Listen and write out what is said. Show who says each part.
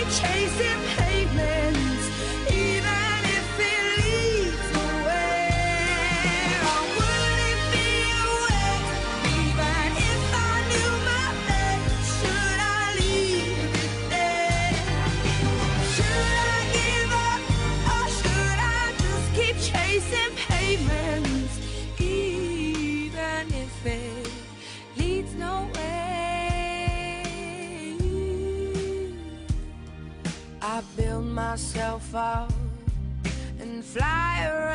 Speaker 1: chasing pavements, even if it leads nowhere. I wouldn't be awake, even if I knew my fate. Should I leave it there? Should I give up, or should I just keep chasing pavements, even if it leads nowhere? I build myself up and fly around